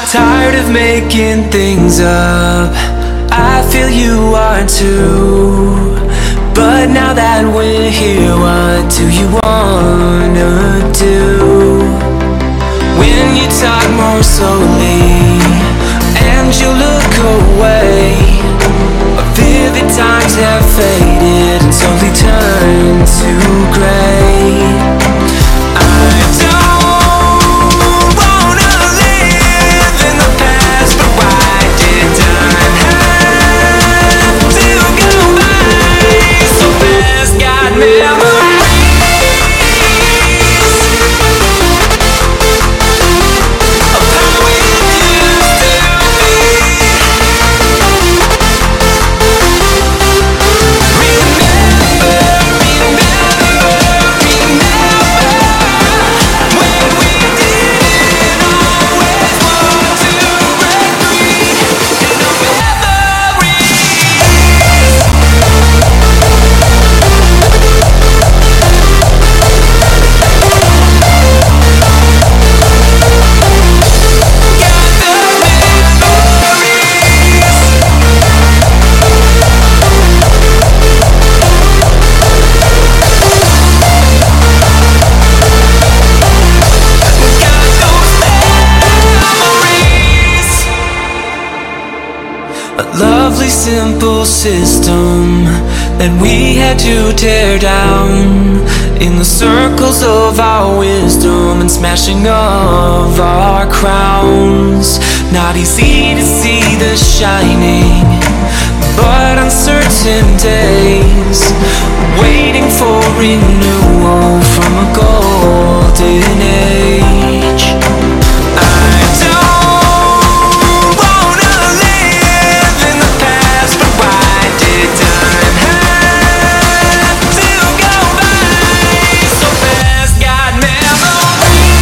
Tired of making things up, I feel you are too. But now that we're here, what do you wanna do? When you talk more slowly and you look away, vivid times have faded and slowly turned to gray. I don't wanna live in the past, but why did time have to go by so fast? Got memories of how we used to be. Lovely simple system that we had to tear down in the circles of our wisdom and smashing of our crowns. Not easy to see the shining, but uncertain days, waiting for renewal from a golden age. I don't wanna live in the past, but why did time have to go by so fast? Got memories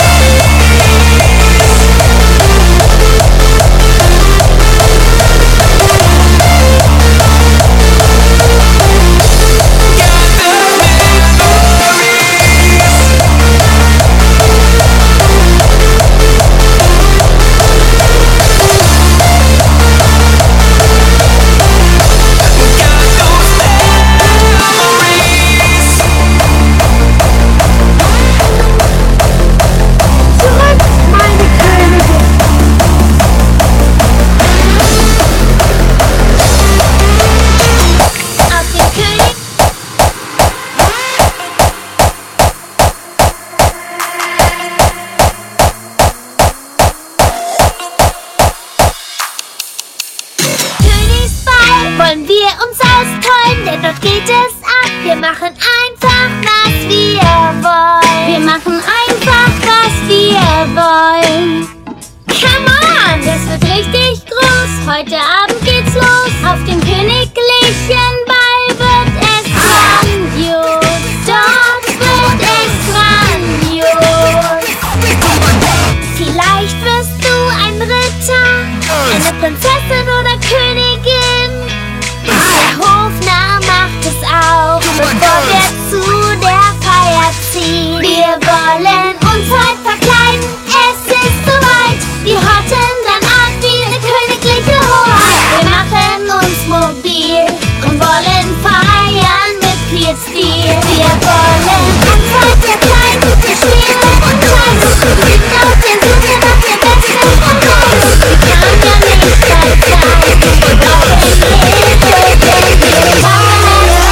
wollen wir uns austräumen, denn dort geht es ab. Wir machen einfach, was wir wollen. Wir machen einfach, was wir wollen. Come on, das wird richtig groß. Heute Abend geht's los. Auf dem königlichen Ball wird es grandios. Dort wird es grandios. Vielleicht wirst du ein Ritter, eine Prinzessin oder Königin. Der Hofnarr macht es auch, bevor wir zu der Feier ziehen. Wir wollen uns heute verkleiden, es ist soweit. Wir hotten dann ab wie eine königliche Hoheit. Wir machen uns mobil und wollen feiern mit viel Stil. Wir wollen uns heute verkleiden, wir spielen und tanzen. Wir sind auf der Suche nach der besten Verkleidung. Wir kann ja nicht verzeihen, wir brauchen Hilfe, denn wir machen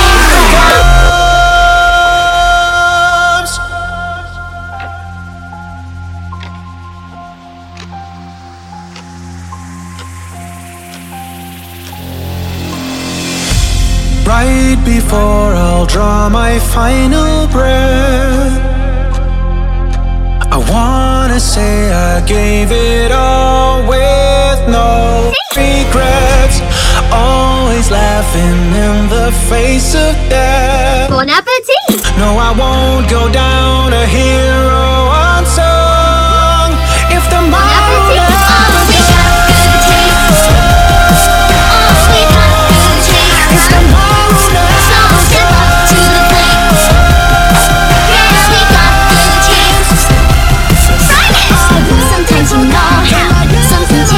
right before I'll draw my final breath. I wanna say I gave it all with no regrets. Always laughing in the face of death. Bon appétit! No, I won't go down a hero unsung. If the model Sometimes you know how, sometimes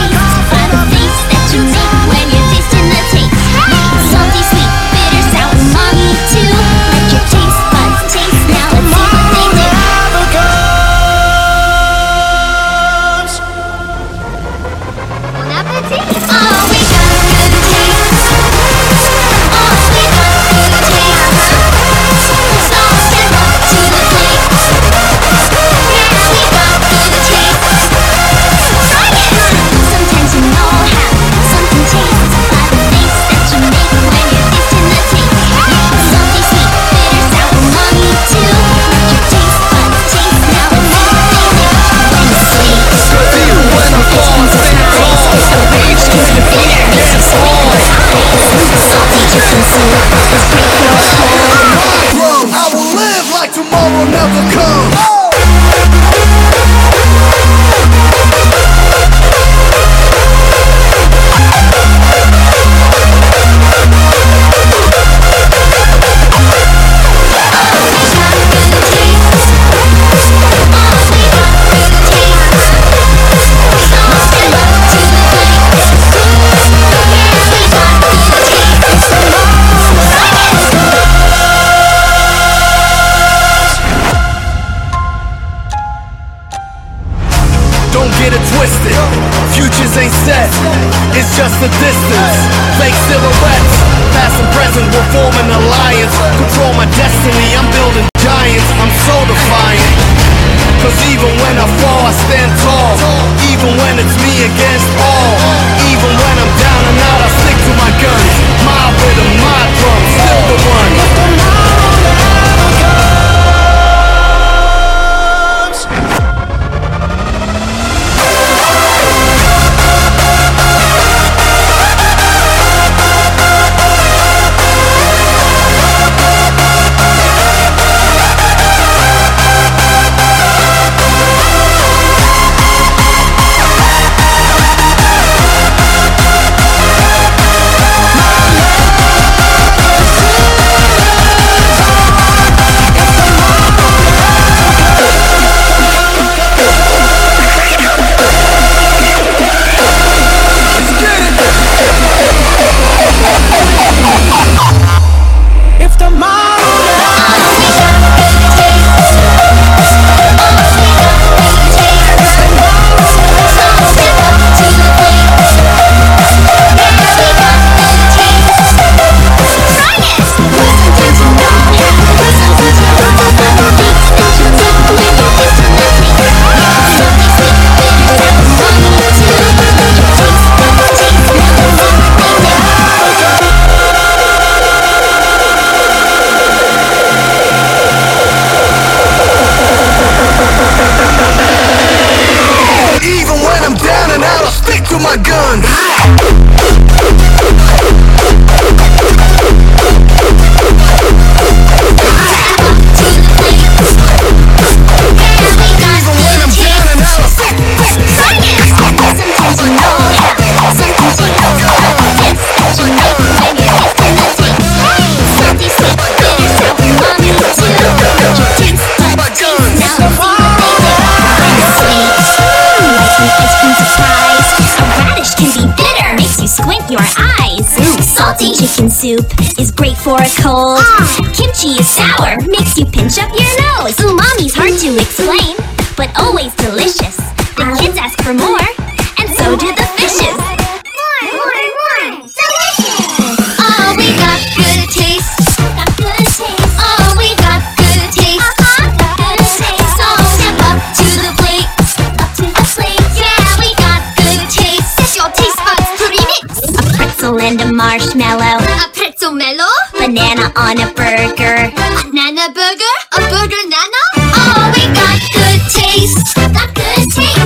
sunset, it's just a distance. Fake silhouettes, past and present, we'll form an alliance. Control my destiny, I'm building giants. I'm so defiant. Cause even when I fall, I stand tall. Even when it's me against all. Even when I'm down and out, I stick to my guns. My rhythm, my drum, still the one. My gun. Squint your eyes. Salty chicken soup is great for a cold. Kimchi is sour, makes you pinch up your nose. Umami's hard to explain, but always delicious. The kids ask for more, and so do the fishes. More. Delicious. Oh, we got good taste. Oh, we got good taste. So step up to the plate. Yeah, we got good taste. That's your taste buds to remix. A pretzel and a marshmallow. A pretzel mellow? Banana on a burger. Nana burger? A burger nana? Oh, we got good taste. Got good taste.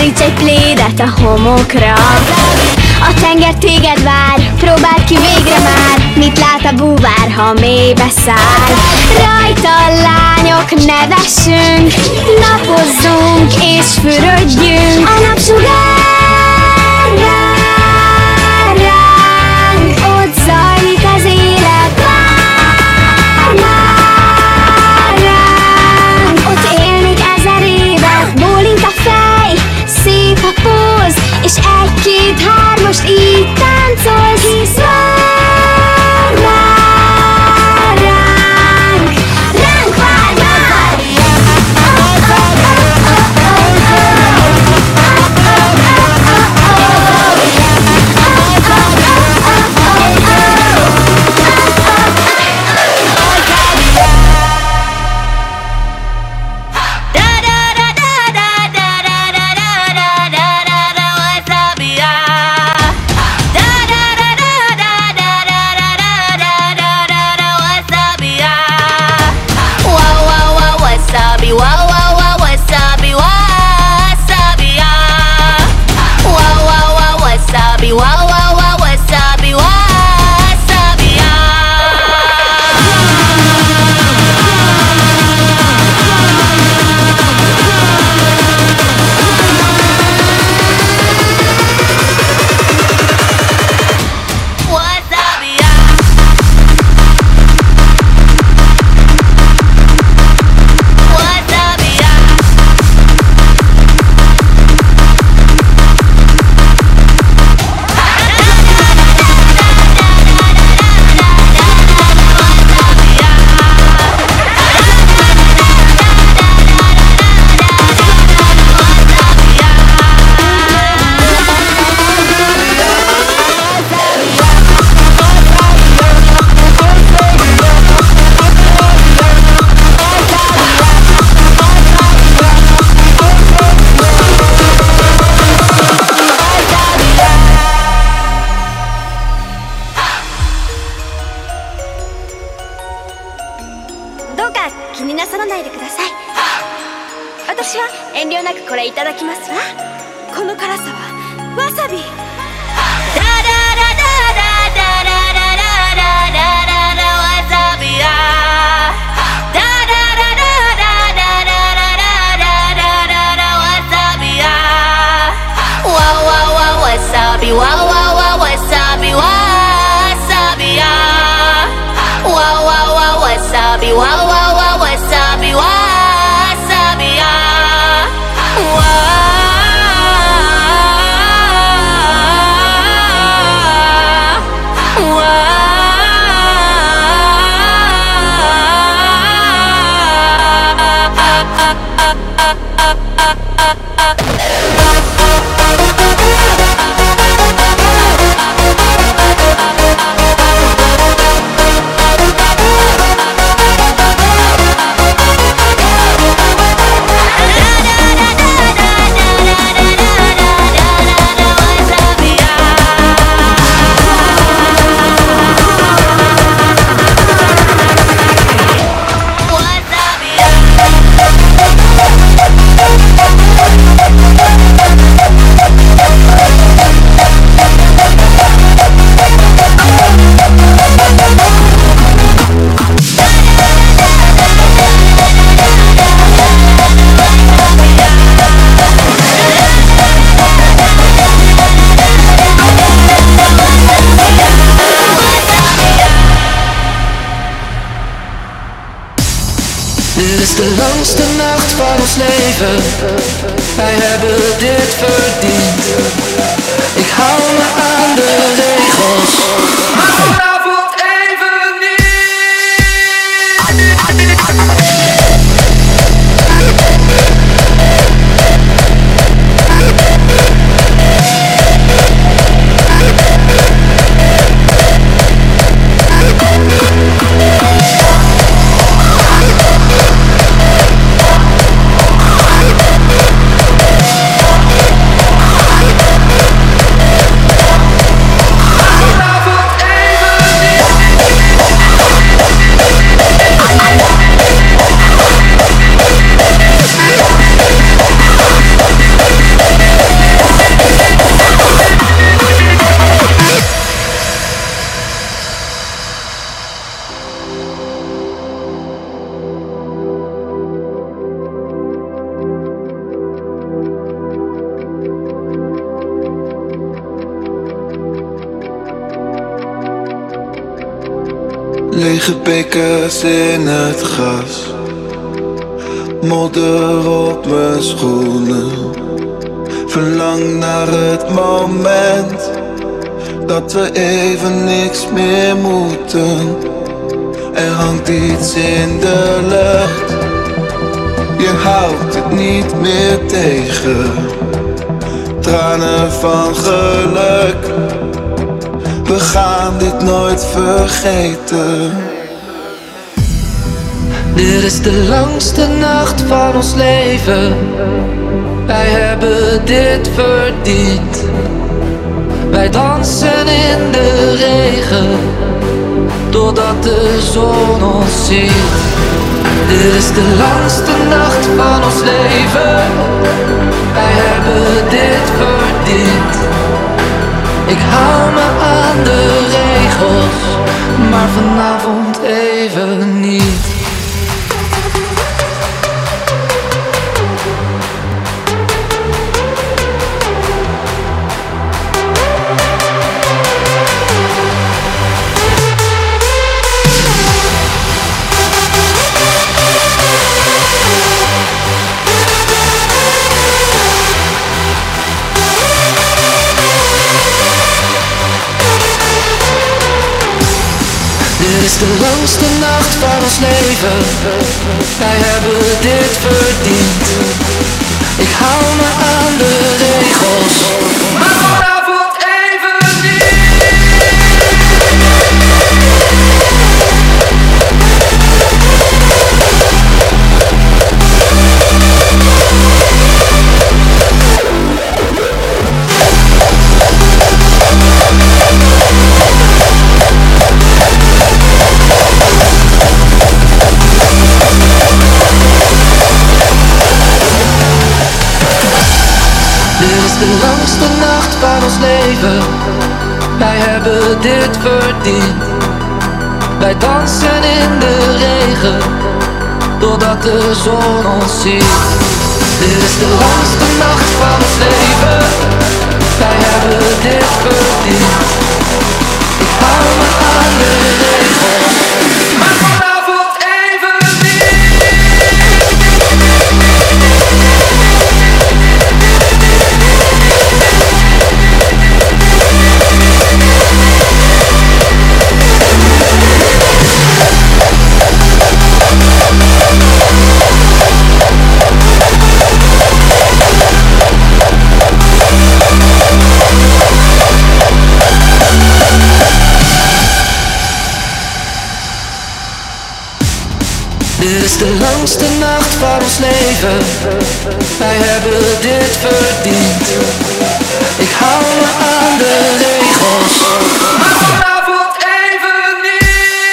Boríts egy plédet a homokra. A tenger téged vár, próbáld ki végre már. Mit lát a búvár, ha mélybe száll? Rajta lányok, nevessünk, napozzunk és fürödjünk. A napsugár vár ránk, ott zajlik az élet, vár ránk. Ott élnék 1000 évet, bólint a fej, szép a póz, és 1, 2, 3 most így táncolsz. Hisz vár ránk, ránk vár, vár. Dit is de langste nacht van ons leven. Wij hebben dit verdiend. Ik hou me aan de regels. Maar vanavond even niet. Lege bekers in het gras, modder op mijn schoenen. Verlang naar het moment dat we even niks meer moeten. Er hangt iets in de lucht, je houdt het niet meer tegen. Tranen van geluk, we gaan dit nooit vergeten. Dit is de langste nacht van ons leven. Wij hebben dit verdiend. Wij dansen in de regen, doordat de zon ons ziet. Dit is de langste nacht van ons leven. Wij hebben dit verdiend. Ik hou me aan de regels, maar vanavond even niet. Dit is de langste nacht van ons leven. Wij hebben dit verdiend. Ik hou me aan de regels, maar vanavond even niet. Dit is de langste nacht van ons leven. Wij hebben dit verdiend. Wij dansen in de regen, doordat de zon ons ziet. Dit is de langste nacht van ons leven. Wij hebben dit verdiend. Ik hou me aan de regels, maar vanavond even niet. Dit is de langste nacht van ons leven. Wij hebben dit verdiend. Ik hou me aan de regels, maar vanavond even niet.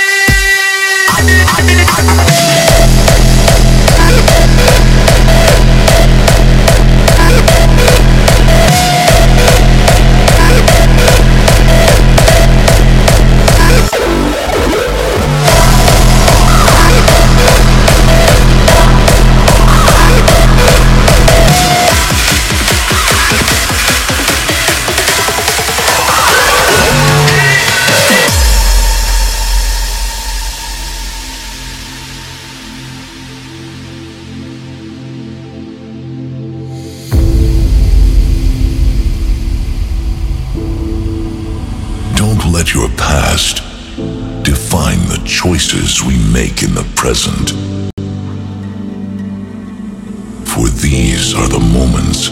Let your past define the choices we make in the present. For these are the moments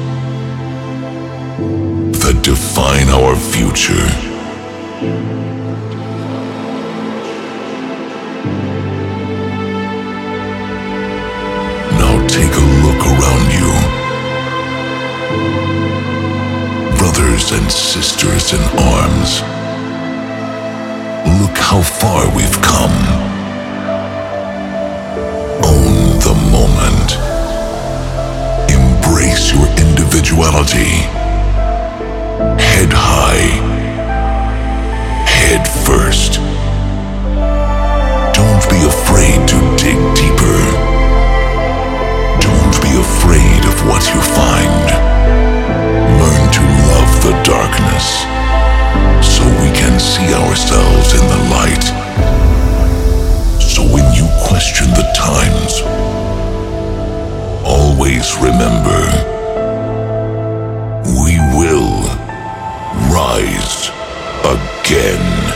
that define our future. Now take a look around you. Brothers and sisters in arms, look how far we've come. Own the moment. Embrace your individuality. Head high. Head first. Don't be afraid to dig deeper. Don't be afraid of what you find. Learn to love the darkness, so we can see ourselves in the light. remember, we will rise again.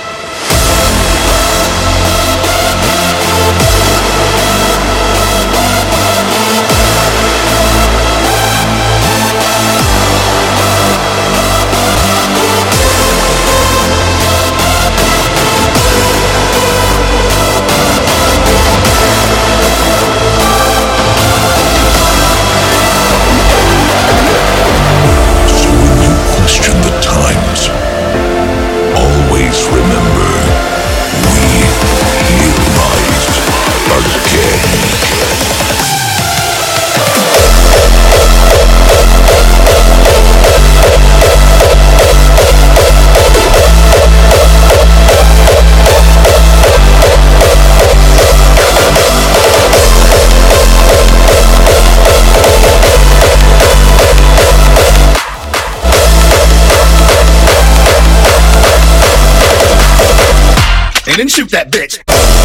And then shoot that bitch.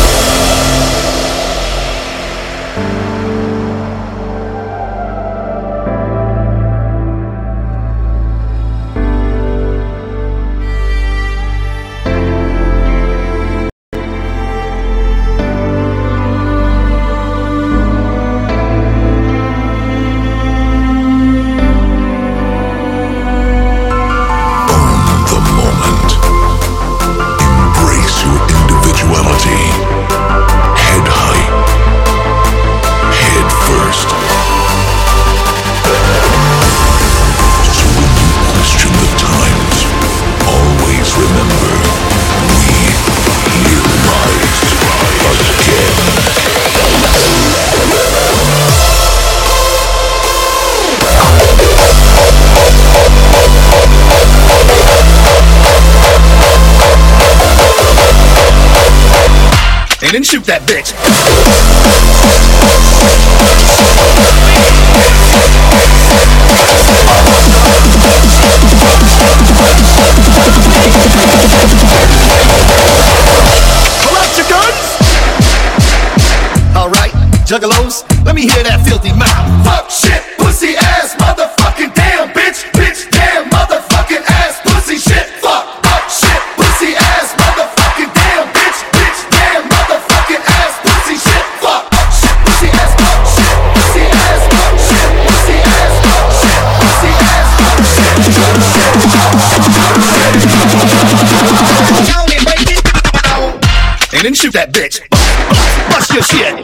And then shoot that bitch. Pull out your guns. Alright, juggalos, let me hear that filthy mouth. Fuck, shit, pussy, ass, motherfucking damn, bitch, bitch, damn, motherfucking ass, pussy, shit, fuck, shit, pussy, ass, motherfucking damn, bitch, bitch, damn, motherfucking ass, pussy, shit, fuck, shit, pussy, ass, shit, pussy, ass, shit, pussy, ass, shit, pussy, ass, and then shoot that bitch. Bust your shit.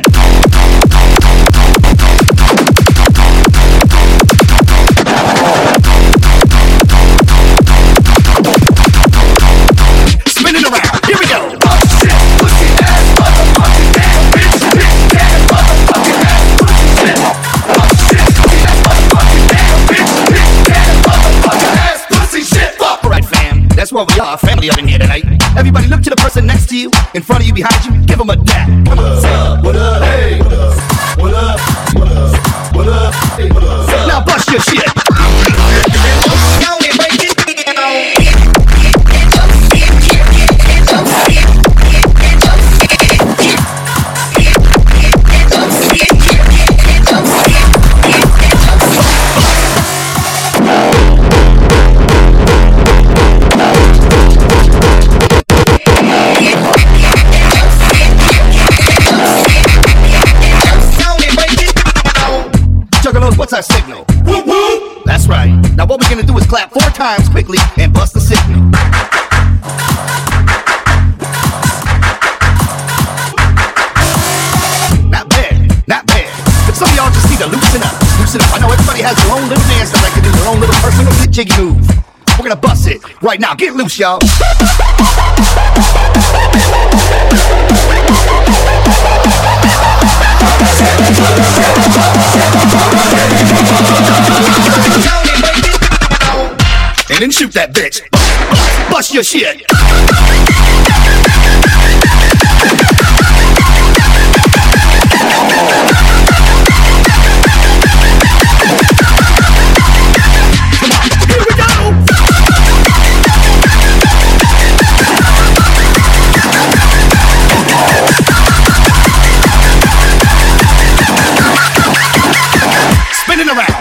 Spinning around. Here we go. Oh shit, pussy ass, motherfucking damn, bitch, bitch, damn, motherfucking ass, pussy shit. Oh shit, pussy ass, motherfucking damn, bitch, bitch, damn, motherfucking ass, pussy shit. Fuck. Alright, fam. That's what we are, family up in here tonight. Everybody look to the person next to you, in front of you, behind you, give them a dap. What up? What up? Hey. What up? What up? What up? What up? Hey. What up? Now bust your shit. What's our signal? Woo woo! That's right. Now what we're gonna do is clap 4 times quickly and bust the signal. Not bad, not bad. But some of y'all just need to loosen up. Loosen up. I know everybody has their own little dance that like to do, their own little personal jiggy move. We're gonna bust it right now. Get loose, y'all. And then shoot that bitch. Bust your shit. Spinning around.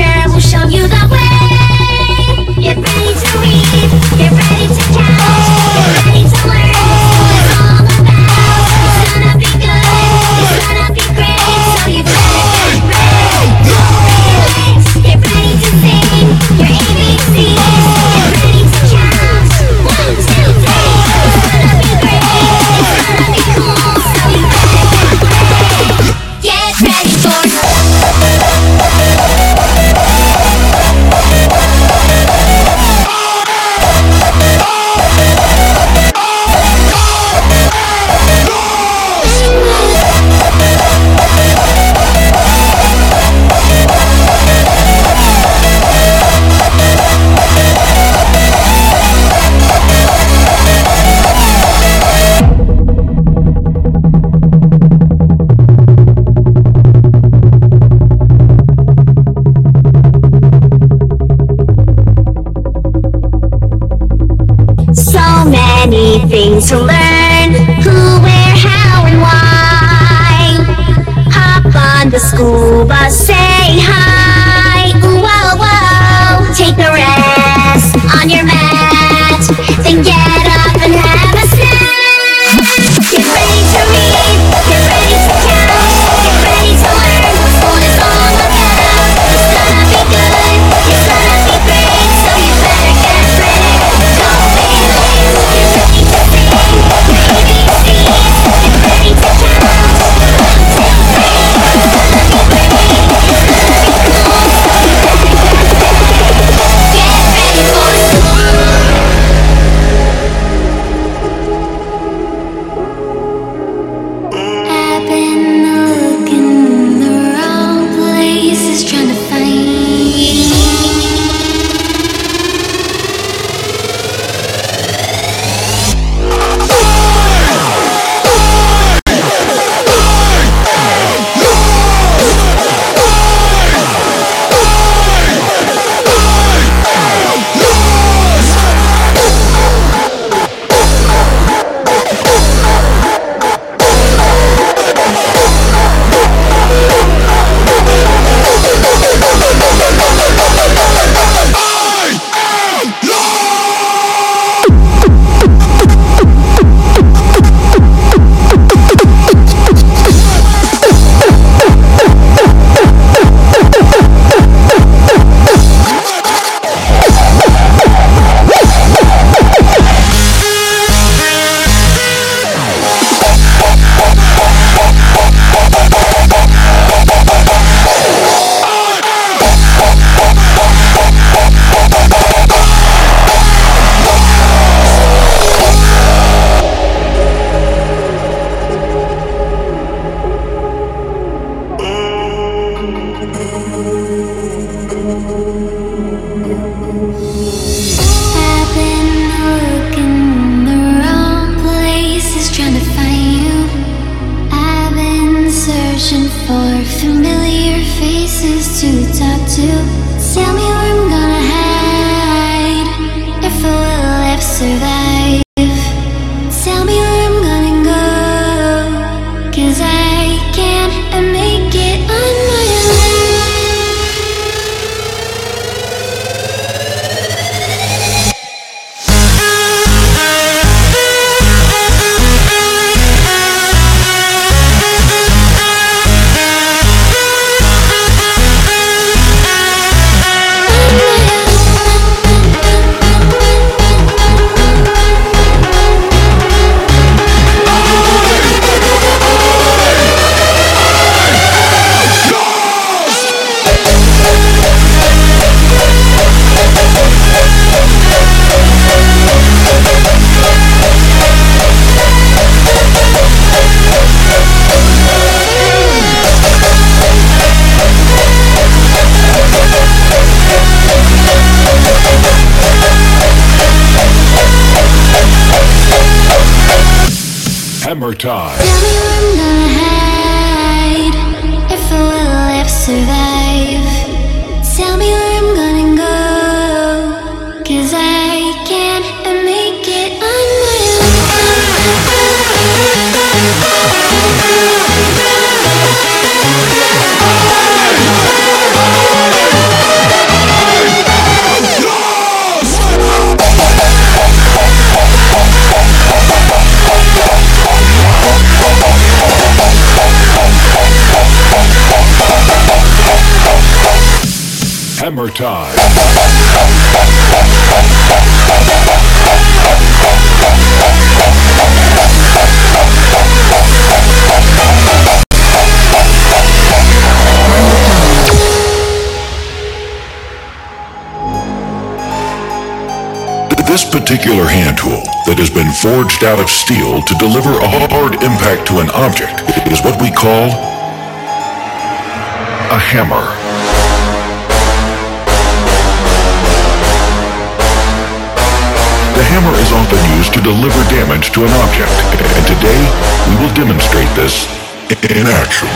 teacher will show you the way. Get ready to read, get ready to count, get ready to learn what it's all about. It's gonna be good, it's gonna be great, so you better get ready. Get ready to sing your ABCs, get ready to count. 1, 2, 3. It's gonna be great, it's gonna be cool, so you better get ready for so many things to learn. Who, where, how, and why. Hop on the school bus, say hi. Ooh, whoa, whoa. Take a rest on your mat, then get up and have a snack. Get ready to read, get ready to count, get ready to learn what school is all about. It's gonna be good, it's gonna be great, so you better get ready. Don't be late. Get ready to sing your ABCs, get ready to count. 1, 2, 3. It's gonna be great, it's gonna be cool, so you better get ready for school. I've been looking in the wrong places, trying to find you. I've been looking in the wrong places, trying to find you. I've been searching for familiar faces to talk to. Tell me where I'm gonna hide, if I will ever survive. Tell me where I'm gonna go, 'cause I can't make it on my own. Hammer time. Tell me where I'm gonna hide, if I will ever survive. Tell me where I'm gonna go, 'cause I can't make it on my own. Hammer time. This particular hand tool that has been forged out of steel to deliver a hard impact to an object is what we call a hammer. The hammer is often used to deliver damage to an object, and today we will demonstrate this in action.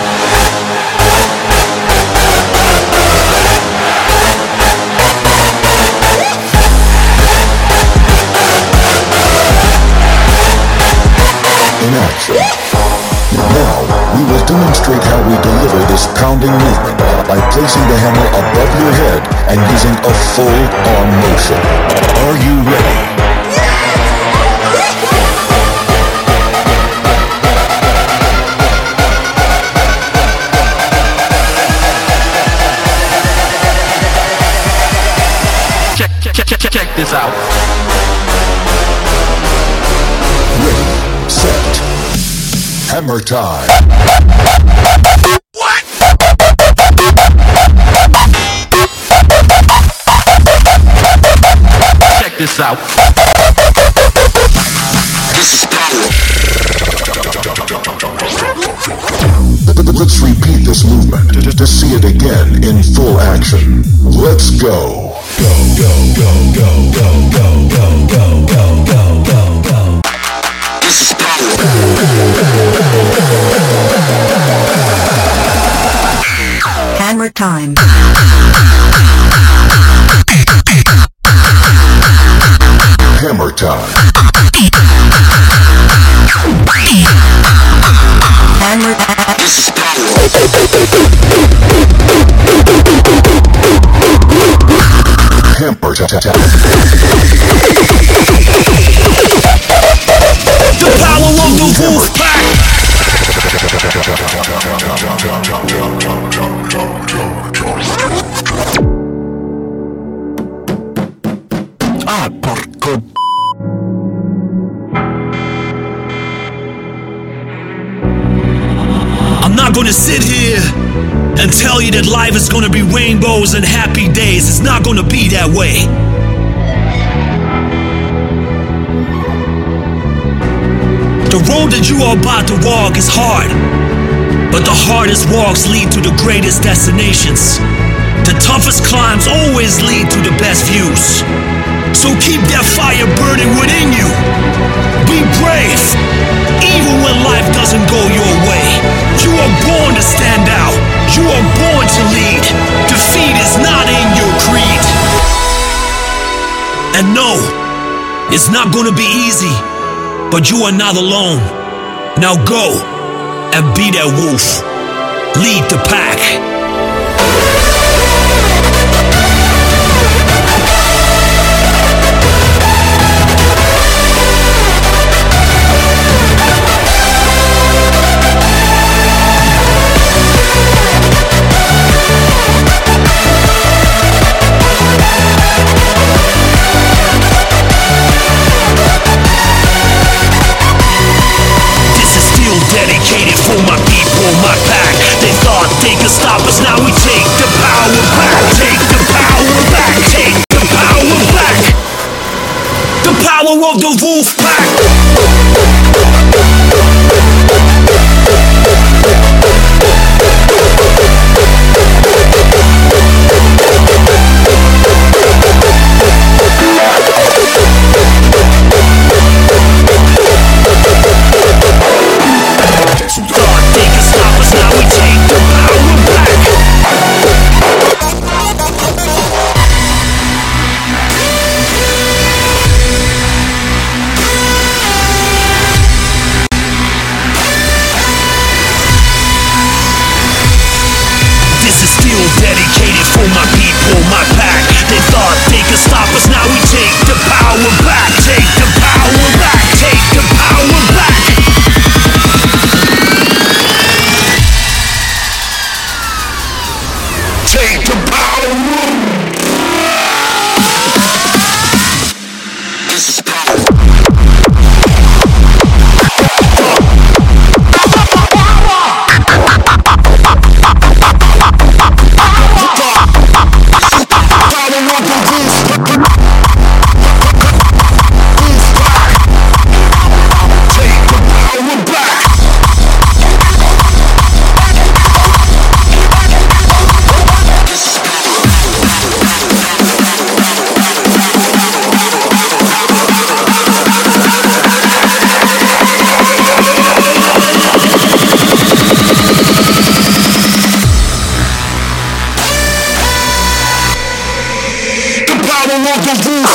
In action. Now, we will demonstrate how we deliver this pounding movement by placing the hammer above your head and using a full arm motion. Are you ready? Check this out. Ready, set, hammer time. What? Check this out. This is power. Let's repeat this movement to see it again in full action. Let's go. Go, go, go, go, go, go, go, go, go, go, go, go. This is power. Hammer time. Hammer time. Hammer. This is power. Hammer time. The power of the wolf pack. Ah, porco. I'm not gonna sit here and tell you that life is gonna be rainbows and happy days. It's not gonna be that way. The road that you are about to walk is hard, but the hardest walks lead to the greatest destinations. The toughest climbs always lead to the best views. So keep that fire burning within you. Be brave, even when life doesn't go your way. You are born to stand out. You are born to lead. Defeat is not in your creed. And no, it's not gonna be easy, but you are not alone. Now go and be that wolf. Lead the pack. Dedicated for my people, my pack. They thought they could stop us, now we take the power back. Take the power back, take the power back. The power of the wolf pack. Everybody make this juice.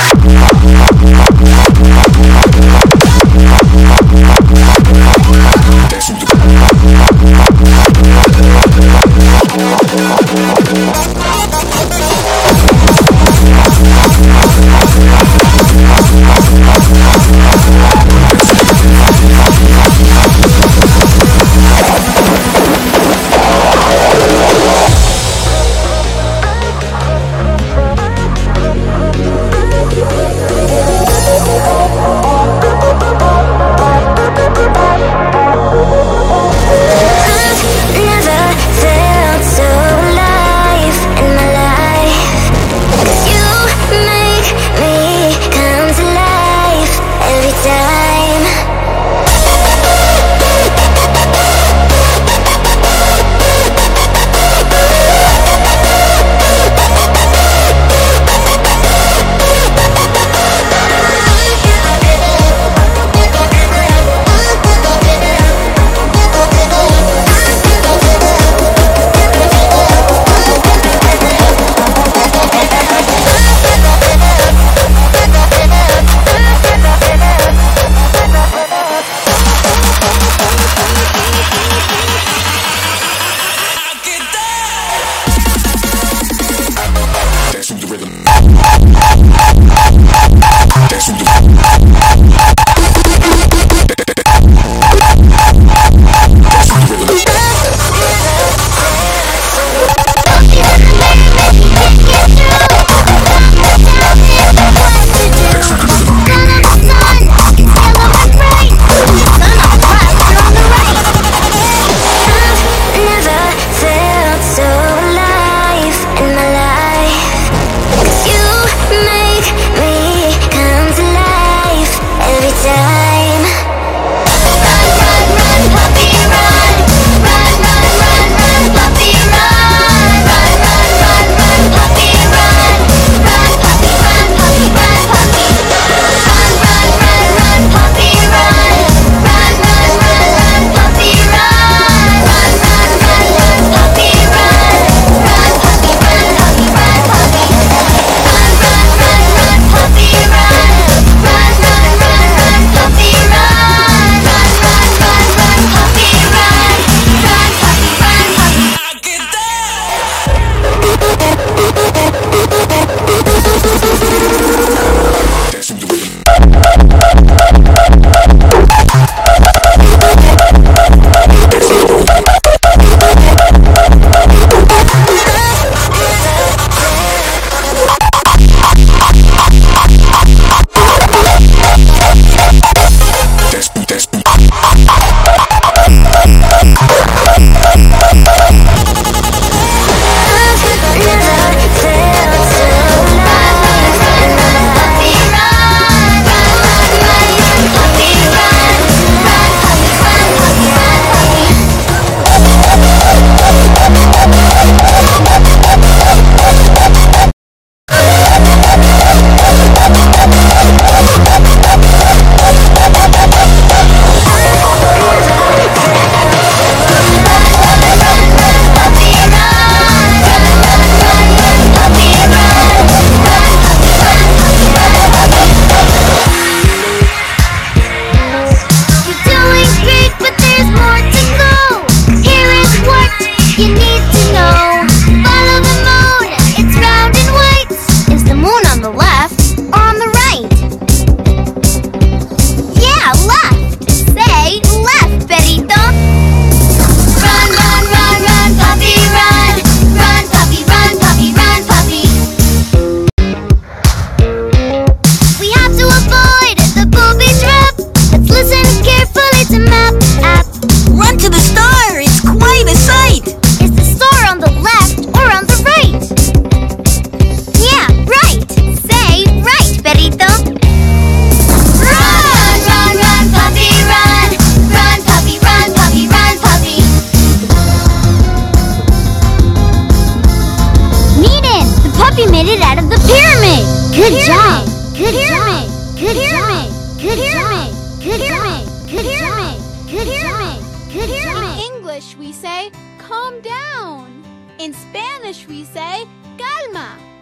English we say, calm down. In Spanish we say, calma.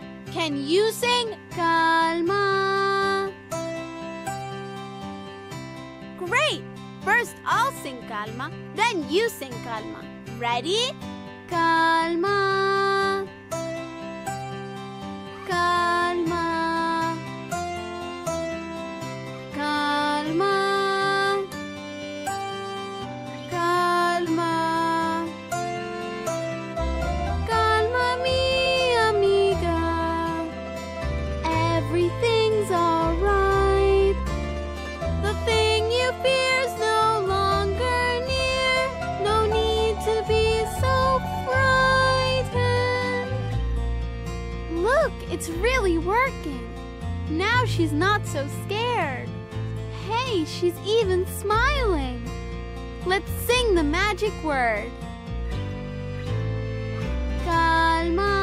Can you sing Calma? Great! First I'll sing Calma, then you sing Calma. Ready? Calma. Calma. Calma. Calma. Calma, mi amiga. Everything's alright. The thing you fear's no longer near. No need to be so frightened. Look, it's really working. Now she's not so scared. Hey, she's even smiling. Let's sing the magic word. Calma.